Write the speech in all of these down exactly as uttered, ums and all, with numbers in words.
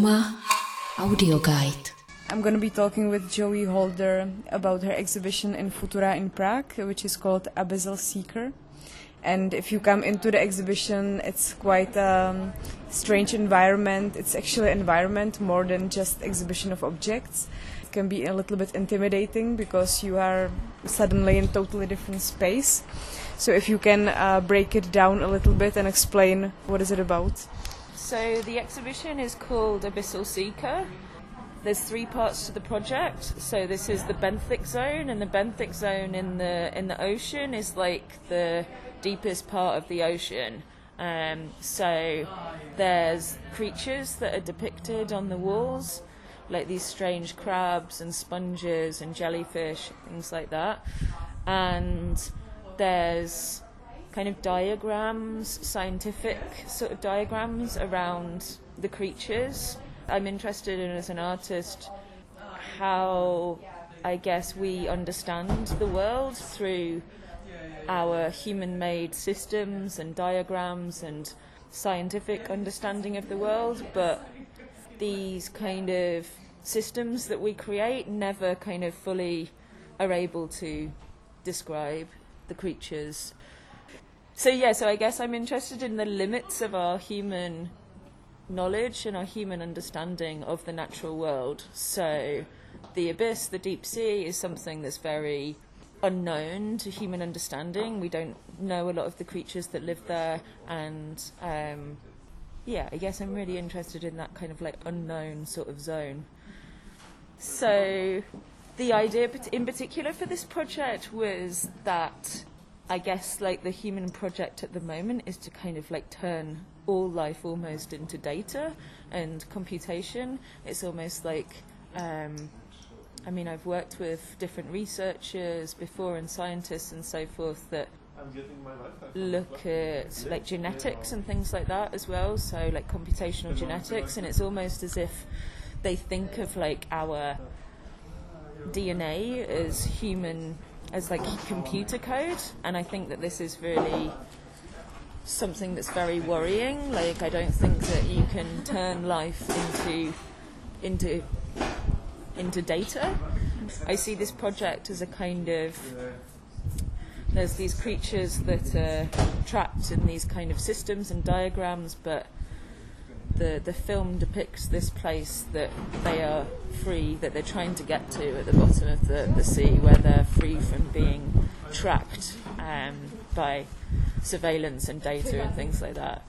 Trauma Audio Guide. I'm going to be talking with Joey Holder about her exhibition in Futura in Prague, which is called Abyssal Seeker. And if you come into the exhibition, it's quite a strange environment. It's actually an environment more than just exhibition of objects. It can be a little bit intimidating because you are suddenly in a totally different space. So if you can uh, break it down a little bit and explain what is it about. So the exhibition is called Abyssal Seeker. There's three parts to the project. So this is the benthic zone, and the benthic zone in the in the ocean is like the deepest part of the ocean. Um, so there's creatures that are depicted on the walls, like these strange crabs and sponges and jellyfish, things like that. And there's kind of diagrams, scientific sort of diagrams around the creatures. I'm interested in, as an artist, how I guess we understand the world through our human-made systems and diagrams and scientific understanding of the world, but these kind of systems that we create never kind of fully are able to describe the creatures. So yeah, so I guess I'm interested in the limits of our human knowledge and our human understanding of the natural world. So the abyss, the deep sea, is something that's very unknown to human understanding. We don't know a lot of the creatures that live there, and um, yeah, I guess I'm really interested in that kind of like unknown sort of zone. So the idea in particular for this project was that I guess like the human project at the moment is to kind of like turn all life almost into data and computation. It's almost like, um, I mean, I've worked with different researchers before and scientists and so forth that look at like genetics and things like that as well, so like computational genetics, and it's almost as if they think of like our D N A as human, as like computer code, and I think that this is really something that's very worrying. Like, I don't think that you can turn life into into into data. I see this project as a kind of, there's these creatures that are trapped in these kind of systems and diagrams, but the the film depicts this place that they are free, that they're trying to get to at the bottom of the, the sea, where they're free from being tracked um, by surveillance and data and things like that,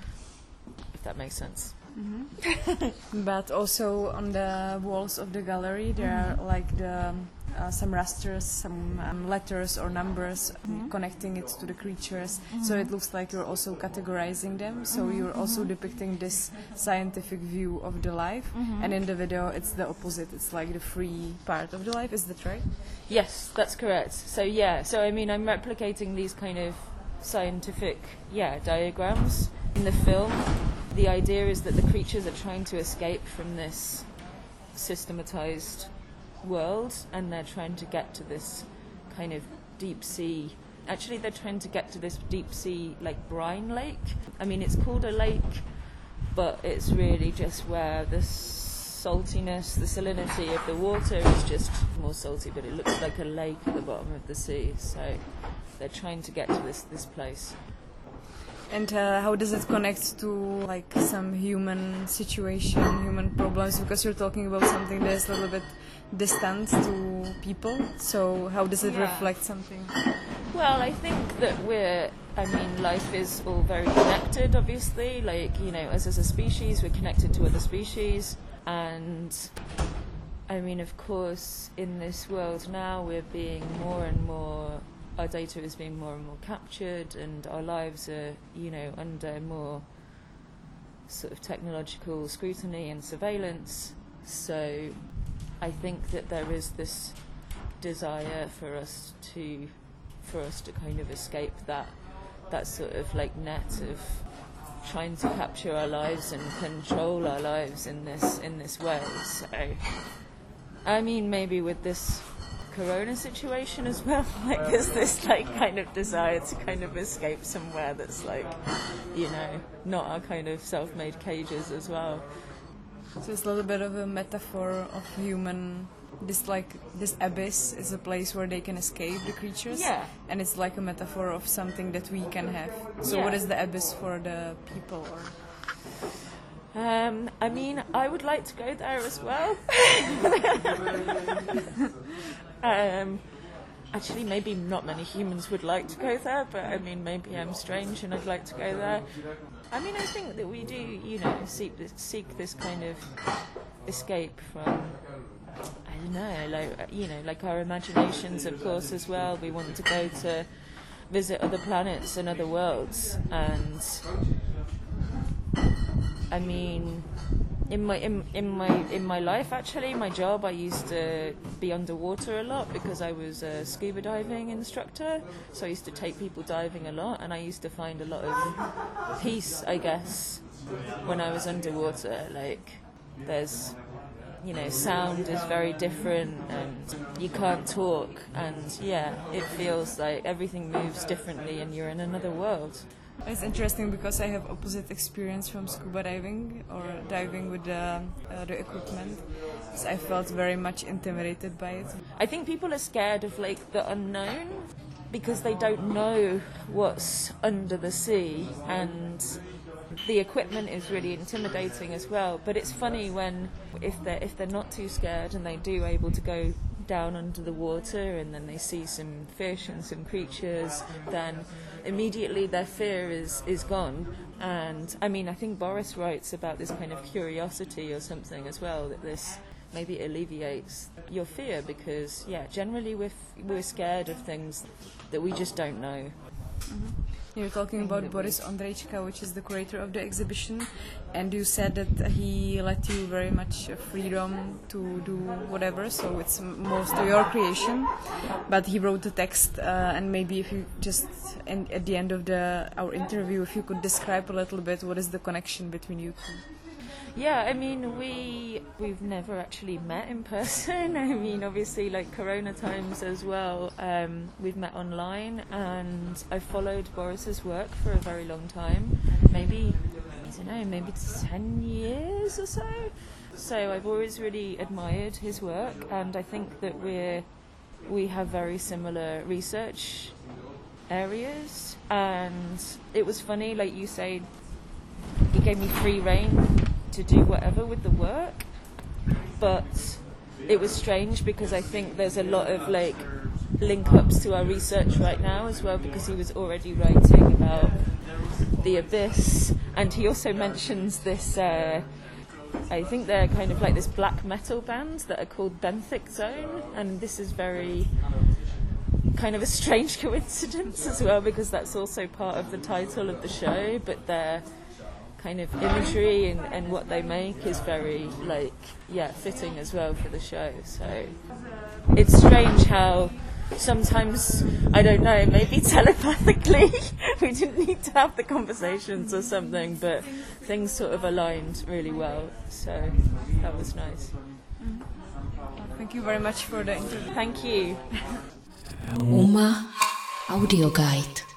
if that makes sense. Mm-hmm. But also on the walls of the gallery there mm-hmm. are like the uh, some rasters, some um, letters or numbers mm-hmm. connecting it to the creatures, mm-hmm. so it looks like you're also categorizing them, so mm-hmm. you're also depicting this scientific view of the life, mm-hmm. and in the video it's the opposite, it's like the free part of the life. Is that right? Yes, that's correct. So yeah, so I mean I'm replicating these kind of scientific yeah diagrams in the film. The idea is that the creatures are trying to escape from this systematized world, and they're trying to get to this kind of deep sea. Actually, they're trying to get to this deep sea, like brine lake. I mean, it's called a lake, but it's really just where the saltiness, the salinity of the water is just more salty, but it looks like a lake at the bottom of the sea. So they're trying to get to this, this place. And uh, how does it connect to like some human situation, human problems? Because you're talking about something that's a little bit distant to people. So how does it yeah. reflect something? Well, I think that we're, I mean, life is all very connected, obviously. Like, you know, as, as a species, we're connected to other species. And, I mean, of course, in this world now, we're being more and more, our data is being more and more captured, and our lives are, you know, under more sort of technological scrutiny and surveillance. So I think that there is this desire for us to, for us to kind of escape that, that sort of like net of trying to capture our lives and control our lives in this in this way. So, I mean, maybe with this corona situation as well, like there's this like kind of desire to kind of escape somewhere that's like, you know, not our kind of self-made cages as well. So it's a little bit of a metaphor of human. This like this abyss is a place where they can escape the creatures, Yeah. and it's like a metaphor of something that we can have. So Yeah. what is the abyss for the people? Or Um, I mean, I would like to go there as well. um, actually, maybe not many humans would like to go there, but I mean, maybe I'm strange and I'd like to go there. I mean, I think that we do, you know, seek this, seek this kind of escape from, I don't know, like, you know, like our imaginations, of course, as well. We want to go to visit other planets and other worlds, and I mean, in my in, in my in my life, actually, my job, I used to be underwater a lot because I was a scuba diving instructor. So I used to take people diving a lot, and I used to find a lot of peace, I guess, when I was underwater. Like, there's, you know, sound is very different, and you can't talk, and yeah, it feels like everything moves differently, and you're in another world. it's interesting because I have opposite experience from scuba diving or diving with the, uh, the equipment. So I felt very much intimidated by it. I think people are scared of like the unknown because they don't know what's under the sea, and the equipment is really intimidating as well. But it's funny when if they're if they're not too scared and they do able to go down under the water and then they see some fish and some creatures, then immediately their fear is is gone. And I mean, I think Boris writes about this kind of curiosity or something as well, that this maybe alleviates your fear, because yeah, generally we're f- we're scared of things that we just don't know. Mm-hmm. You're talking about Boris Ondrejka, which is the curator of the exhibition, and you said that he let you very much freedom to do whatever, so it's most of your creation, but he wrote the text, uh, and maybe if you just, in, at the end of the our interview, if you could describe a little bit what is the connection between you two. Yeah, I mean, we, we've never actually met in person. I mean, obviously, like Corona times as well, um, we've met online, and I followed Boris's work for a very long time, maybe, I don't know, maybe ten years or so. So I've always really admired his work, and I think that we're, we have very similar research areas, and it was funny, like you say, he gave me free rein to do whatever with the work, but it was strange because I think there's a lot of like link-ups to our research right now as well, because he was already writing about the abyss, and he also mentions this uh, I think they're kind of like this black metal band that are called Benthic Zone, and this is very kind of a strange coincidence as well, because that's also part of the title of the show, but they're kind of imagery and, and what they make is very like yeah fitting as well for the show. So it's strange how sometimes, I don't know, maybe telepathically we didn't need to have the conversations or something, but things sort of aligned really well, so that was nice. Mm-hmm. Thank you very much for the interview. Thank you. UMA Audio Guide.